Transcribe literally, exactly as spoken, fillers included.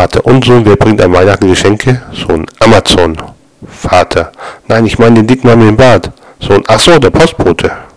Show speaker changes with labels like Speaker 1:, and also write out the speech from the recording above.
Speaker 1: Vater: Und Sohn, wer bringt an Weihnachten Geschenke? Sohn: Amazon. Vater: Nein, ich meine den dicken Mann mit dem Bart. Sohn: Ach so, der Postbote.